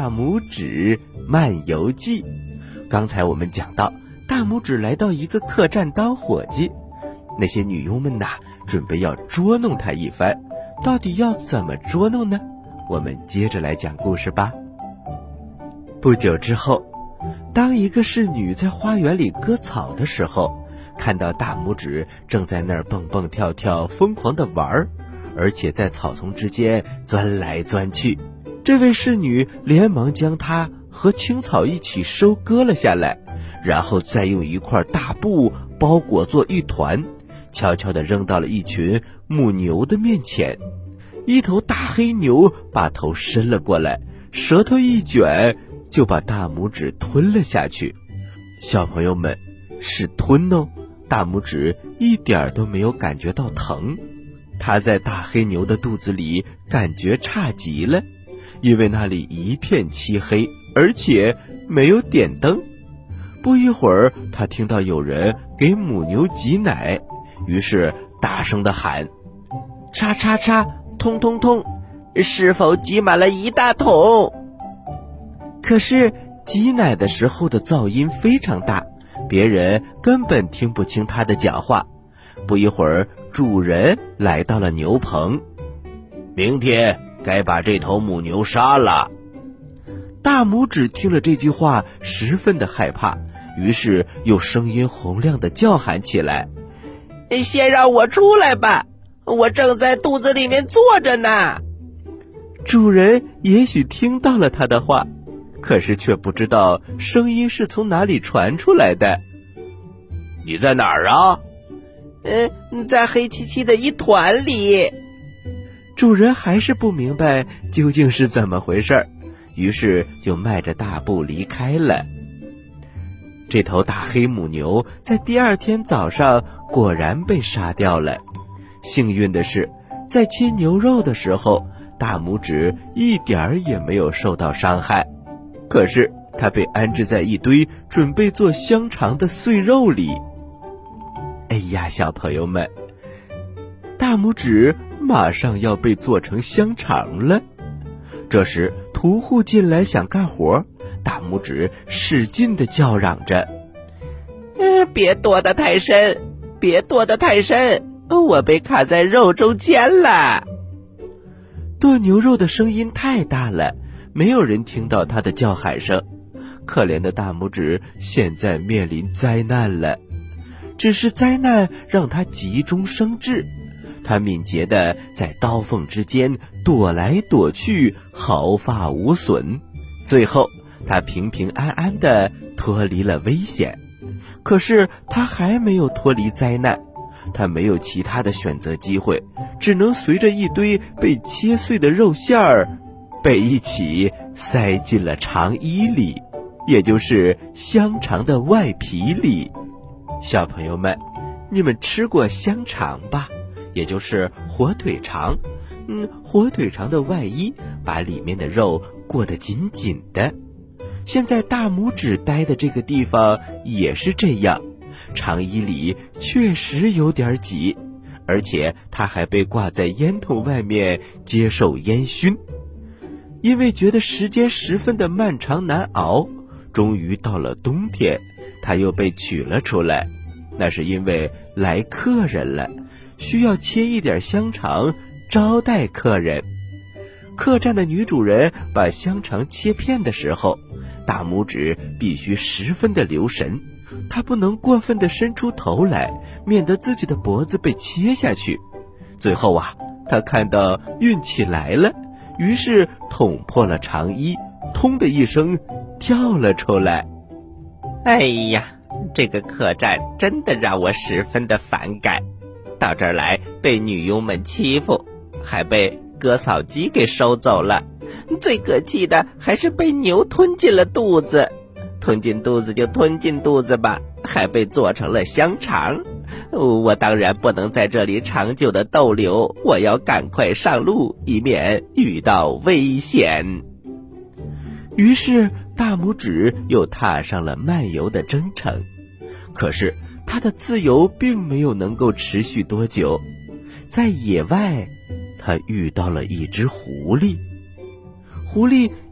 大拇指漫游记》。刚才我们讲到，大拇指来到一个客栈当伙计，那些女佣们准备要捉弄他一番，到底要怎么捉弄呢？我们接着来讲故事吧。不久之后，当一个侍女在花园里割草的时候，看到大拇指正在那儿蹦蹦跳跳疯狂地玩，而且在草丛之间钻来钻去。这位侍女连忙将它和青草一起收割了下来，然后再用一块大布包裹作一团，悄悄地扔到了一群母牛的面前。一头大黑牛把头伸了过来，舌头一卷，就把大拇指吞了下去。小朋友们，是吞哦，大拇指一点都没有感觉到疼。它在大黑牛的肚子里感觉差极了，因为那里一片漆黑，而且没有点灯。不一会儿，他听到有人给母牛挤奶，于是大声地喊：叉叉叉，通通通，是否挤满了一大桶？可是挤奶的时候的噪音非常大，别人根本听不清他的讲话。不一会儿，主人来到了牛棚。明天该把这头母牛杀了。大拇指听了这句话，十分的害怕，于是又声音洪亮地叫喊起来：先让我出来吧，我正在肚子里面坐着呢。主人也许听到了他的话，可是却不知道声音是从哪里传出来的。你在哪儿啊？在黑漆漆的一团里。主人还是不明白究竟是怎么回事，于是就迈着大步离开了。这头大黑母牛在第二天早上果然被杀掉了。幸运的是，在切牛肉的时候，大拇指一点儿也没有受到伤害。可是它被安置在一堆准备做香肠的碎肉里。哎呀，小朋友们，大拇指马上要被做成香肠了。这时屠户进来想干活，大拇指使劲地叫嚷着：别剁得太深，别剁得太深，我被卡在肉中间了。剁牛肉的声音太大了，没有人听到他的叫喊声。可怜的大拇指现在面临灾难了，只是灾难让他急中生智。他敏捷地在刀缝之间躲来躲去，毫发无损。最后他平平安安地脱离了危险。可是他还没有脱离灾难，他没有其他的选择机会，只能随着一堆被切碎的肉馅儿被一起塞进了肠衣里，也就是香肠的外皮里。小朋友们，你们吃过香肠吧？也就是火腿肠。火腿肠的外衣把里面的肉裹得紧紧的。现在大拇指待的这个地方也是这样，肠衣里确实有点挤，而且它还被挂在烟筒外面接受烟熏。因为觉得时间十分的漫长难熬，终于到了冬天，它又被取了出来。那是因为来客人了，需要切一点香肠招待客人。客栈的女主人把香肠切片的时候，大拇指必须十分的留神，她不能过分的伸出头来，免得自己的脖子被切下去。最后她看到运气来了，于是捅破了肠衣，通的一声跳了出来。哎呀，这个客栈真的让我十分的反感，到这儿来被女佣们欺负，还被割草机给收走了，最可气的还是被牛吞进了肚子。吞进肚子就吞进肚子吧，还被做成了香肠。我当然不能在这里长久的逗留，我要赶快上路，以免遇到危险。于是大拇指又踏上了漫游的征程。可是他的自由并没有能够持续多久。在野外，他遇到了一只狐狸。狐狸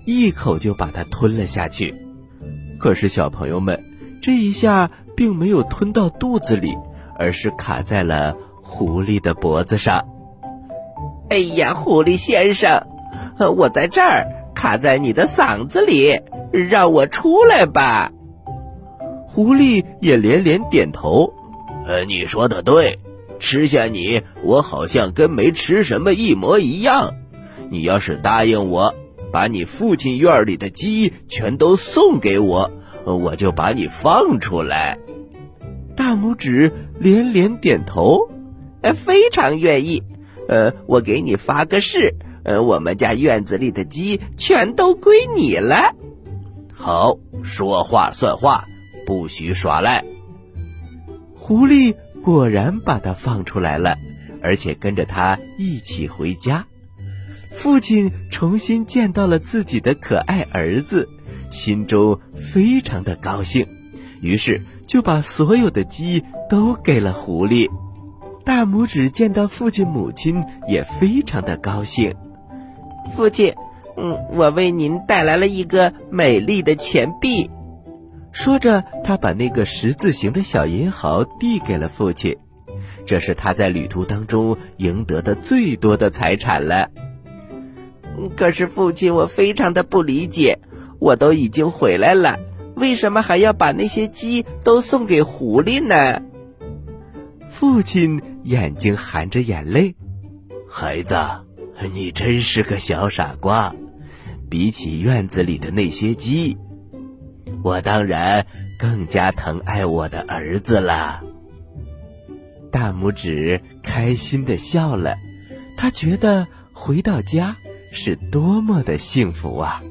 一口就把它吞了下去。可是小朋友们，这一下并没有吞到肚子里，而是卡在了狐狸的脖子上。 哎呀，狐狸先生，我在这儿卡在你的嗓子里，让我出来吧。 狐狸也连连点头。 你说的对，吃下你，我好像跟没吃什么一模一样。你要是答应我，把你父亲院里的鸡全都送给我，我就把你放出来。 大拇指连连点头。 非常愿意。我给你发个誓，我们家院子里的鸡全都归你了。 好，说话算话，不许耍赖。狐狸果然把它放出来了，而且跟着他一起回家。父亲重新见到了自己的可爱儿子，心中非常的高兴，于是就把所有的鸡都给了狐狸。大拇指见到父亲母亲也非常的高兴。 父亲，我为您带来了一个美丽的钱币。 说着，他把那个十字形的小银毫递给了父亲。这是他在旅途当中赢得的最多的财产了。 可是父亲，我非常的不理解，我都已经回来了，为什么还要把那些鸡都送给狐狸呢？ 父亲眼睛含着眼泪。 孩子，你真是个小傻瓜，比起院子里的那些鸡，我当然更加疼爱我的儿子了。 大拇指开心地笑了，他觉得回到家是多么的幸福啊。